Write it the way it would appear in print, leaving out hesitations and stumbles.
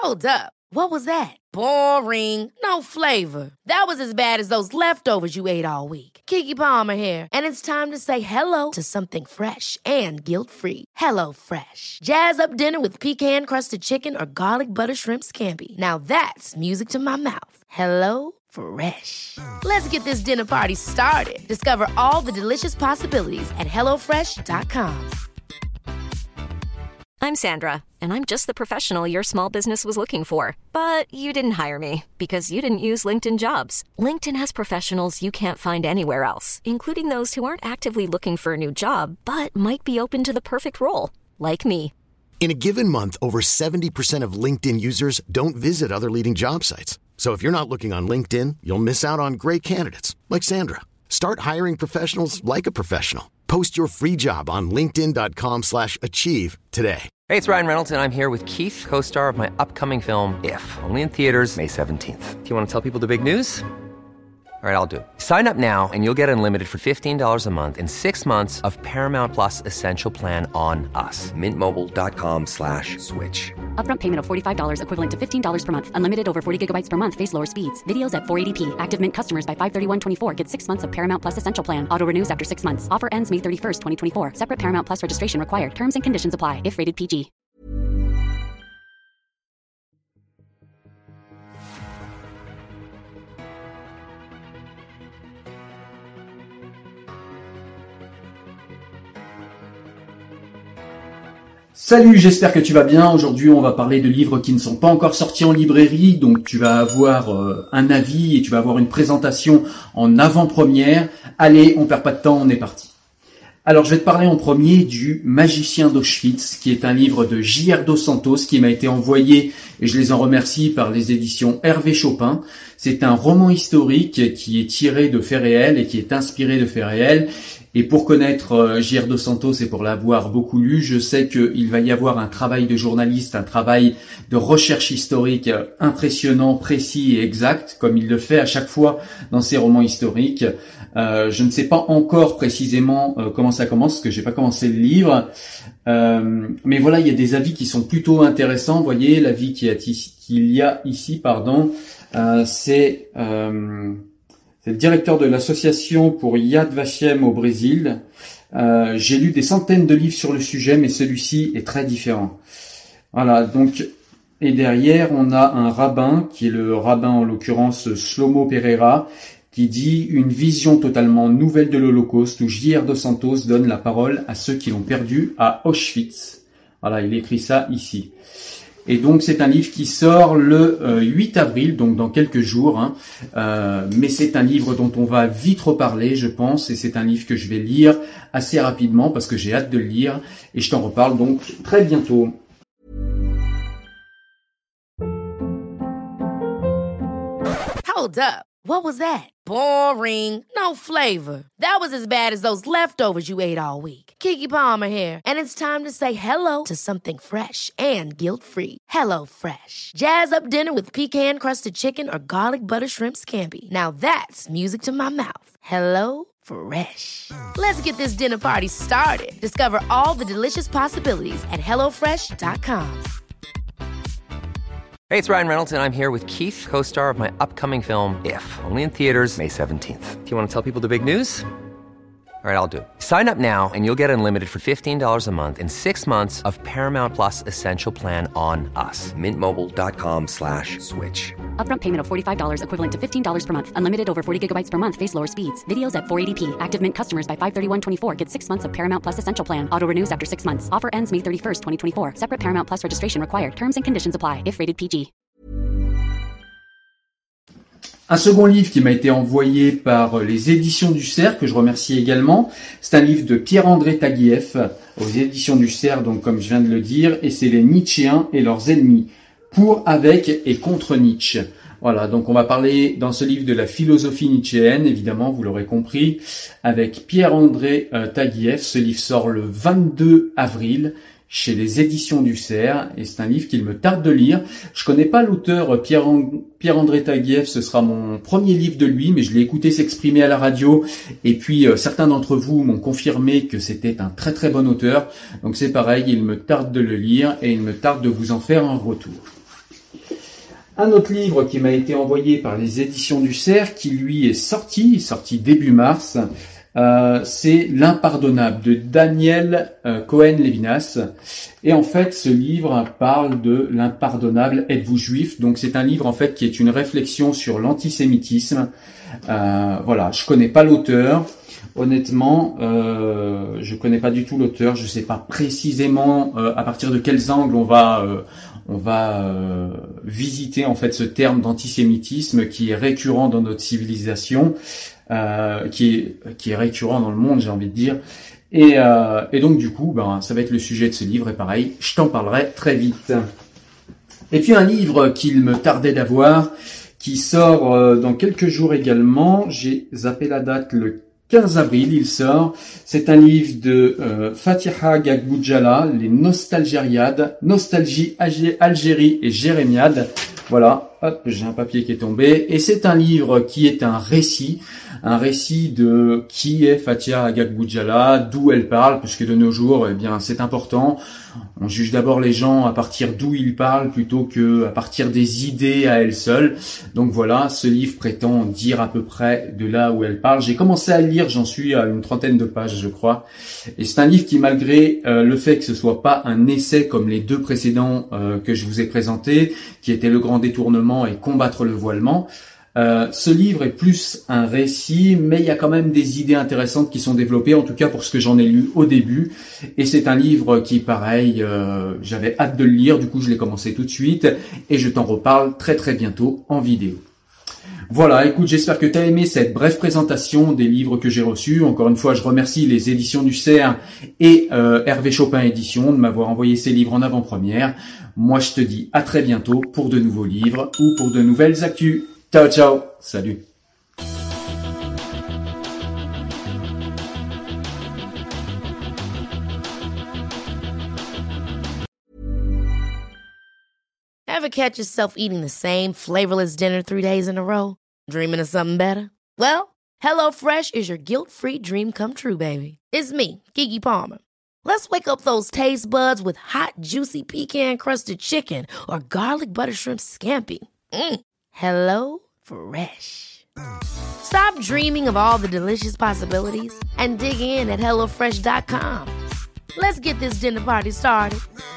Hold up. What was that? Boring. No flavor. That was as bad as those leftovers you ate all week. Keke Palmer here, and it's time to say hello to something fresh and guilt-free. Hello Fresh. Jazz up dinner with pecan-crusted chicken or garlic butter shrimp scampi. Now that's music to my mouth. Hello Fresh. Let's get this dinner party started. Discover all the delicious possibilities at hellofresh.com. I'm Sandra, and I'm just the professional your small business was looking for. But you didn't hire me because you didn't use LinkedIn Jobs. LinkedIn has professionals you can't find anywhere else, including those who aren't actively looking for a new job, but might be open to the perfect role, like me. In a given month, over 70% of LinkedIn users don't visit other leading job sites. So if you're not looking on LinkedIn, you'll miss out on great candidates, like Sandra. Start hiring professionals like a professional. Post your free job on linkedin.com/achieve today. Hey, it's Ryan Reynolds, and I'm here with Keith, co-star of my upcoming film, If, only in theaters May 17th. Do you want to tell people the big news? All right, I'll do it. Sign up now and you'll get unlimited for $15 a month and 6 months of Paramount Plus Essential Plan on us. MintMobile.com/switch. Upfront payment of $45 equivalent to $15 per month. Unlimited over 40 gigabytes per month. Face lower speeds. Videos at 480p. Active Mint customers by 531.24 get 6 months of Paramount Plus Essential Plan. Auto renews after 6 months. Offer ends May 31st, 2024. Separate Paramount Plus registration required. Terms and conditions apply if rated PG. Salut, j'espère que tu vas bien. Aujourd'hui, on va parler de livres qui ne sont pas encore sortis en librairie, donc tu vas avoir un avis et tu vas avoir une présentation en avant-première. Allez, on perd pas de temps, on est parti. Alors, je vais te parler en premier du Magicien d'Auschwitz, qui est un livre de J.R. Dos Santos qui m'a été envoyé, et je les en remercie, par les éditions Hervé Chopin. C'est un roman historique qui est tiré de faits réels et qui est inspiré de faits réels. Et pour connaître J.R. Dos Santos et pour l'avoir beaucoup lu, je sais qu'il va y avoir un travail de journaliste, un travail de recherche historique impressionnant, précis et exact, comme il le fait à chaque fois dans ses romans historiques. Je ne sais pas encore précisément comment ça commence, parce que j'ai pas commencé le livre. Mais voilà, il y a des avis qui sont plutôt intéressants. Vous voyez, l'avis qu'il y a ici, c'est le directeur de l'association pour Yad Vashem au Brésil. J'ai lu des centaines de livres sur le sujet, mais celui-ci est très différent. Voilà, donc, et derrière, on a un rabbin, qui est le rabbin en l'occurrence Shlomo Pereira, qui dit une vision totalement nouvelle de l'Holocauste, où J.R. Dos Santos donne la parole à ceux qui l'ont perdu à Auschwitz. Voilà, il écrit ça ici. Et donc c'est un livre qui sort le 8 avril, donc dans quelques jours. Mais c'est un livre dont on va vite reparler, je pense, et c'est un livre que je vais lire assez rapidement parce que j'ai hâte de le lire, et je t'en reparle donc très bientôt. Hold up. What was that? Boring. No flavor. That was as bad as those leftovers you ate all week. Keke Palmer here, and it's time to say hello to something fresh and guilt-free. Hello Fresh. Jazz up dinner with pecan-crusted chicken or garlic butter shrimp scampi. Now that's music to my mouth. Hello Fresh. Let's get this dinner party started. Discover all the delicious possibilities at hellofresh.com. Hey, it's Ryan Reynolds, and I'm here with Keith, co-star of my upcoming film, If, only in theaters May 17th. Do you want to tell people the big news? All right, I'll do it. Sign up now and you'll get unlimited for $15 a month and 6 months of Paramount Plus Essential Plan on us. MintMobile.com/switch. Upfront payment of $45 equivalent to $15 per month. Unlimited over 40 gigabytes per month. Face lower speeds. Videos at 480p. Active Mint customers by 531.24 get 6 months of Paramount Plus Essential Plan. Auto renews after 6 months. Offer ends May 31st, 2024. Separate Paramount Plus registration required. Terms and conditions apply if rated PG. Un second livre qui m'a été envoyé par les éditions du Cerf, que je remercie également, c'est un livre de Pierre-André Taguieff aux éditions du Cerf, donc comme je viens de le dire, et c'est les Nietzschéens et leurs ennemis, pour, avec et contre Nietzsche. Voilà, donc on va parler dans ce livre de la philosophie nietzschéenne, évidemment, vous l'aurez compris, avec Pierre-André Taguieff. Ce livre sort le 22 avril. Chez les éditions du Cerf, et c'est un livre qu'il me tarde de lire. Je connais pas l'auteur Pierre-André Taguieff, ce sera mon premier livre de lui, mais je l'ai écouté s'exprimer à la radio, et puis certains d'entre vous m'ont confirmé que c'était un très très bon auteur, donc c'est pareil, il me tarde de le lire, et il me tarde de vous en faire un retour. Un autre livre qui m'a été envoyé par les éditions du Cerf, qui lui est sorti début mars, c'est L'Impardonnable de Daniel Cohen-Lévinas. Et en fait, ce livre parle de l'impardonnable. Êtes-vous juif? Donc c'est un livre en fait qui est une réflexion sur l'antisémitisme. Voilà, je connais pas l'auteur. Honnêtement, je connais pas du tout l'auteur. Je sais pas précisément à partir de quels angles on va visiter en fait ce terme d'antisémitisme qui est récurrent dans notre civilisation, qui est récurrent dans le monde, j'ai envie de dire. Et donc du coup, ça va être le sujet de ce livre. Et pareil, je t'en parlerai très vite. Et puis un livre qu'il me tardait d'avoir, qui sort dans quelques jours également. J'ai zappé la date, le 15 avril, il sort. C'est un livre de Fatiha Gagboudjala, les Nostalgériades, Nostalgie, Algérie et Jérémiade. Voilà, hop, j'ai un papier qui est tombé. Et c'est un livre qui est un récit de qui est Fatiha Gagboudjala, d'où elle parle, puisque de nos jours, c'est important. On juge d'abord les gens à partir d'où ils parlent plutôt que à partir des idées à elles seules. Donc voilà, ce livre prétend dire à peu près de là où elle parle. J'ai commencé à le lire, j'en suis à une trentaine de pages, je crois. Et c'est un livre qui, malgré le fait que ce soit pas un essai comme les deux précédents que je vous ai présentés, qui étaient Le Grand Détournement et Combattre le voilement, ce livre est plus un récit, mais il y a quand même des idées intéressantes qui sont développées, en tout cas pour ce que j'en ai lu au début. Et c'est un livre qui, pareil, j'avais hâte de le lire, du coup je l'ai commencé tout de suite, et je t'en reparle très très bientôt en vidéo. Voilà, écoute, j'espère que tu as aimé cette brève présentation des livres que j'ai reçus. Encore une fois, je remercie les éditions du Cerf et Hervé Chopin Éditions de m'avoir envoyé ces livres en avant-première. Moi, je te dis à très bientôt pour de nouveaux livres ou pour de nouvelles actus. Ciao, ciao, salut. Ever catch yourself eating the same flavorless dinner 3 days in a row? Dreaming of something better? Well, HelloFresh is your guilt-free dream come true, baby. It's me, Keke Palmer. Let's wake up those taste buds with hot, juicy pecan-crusted chicken or garlic butter shrimp scampi. Hello Fresh. Stop dreaming of all the delicious possibilities and dig in at HelloFresh.com. Let's get this dinner party started.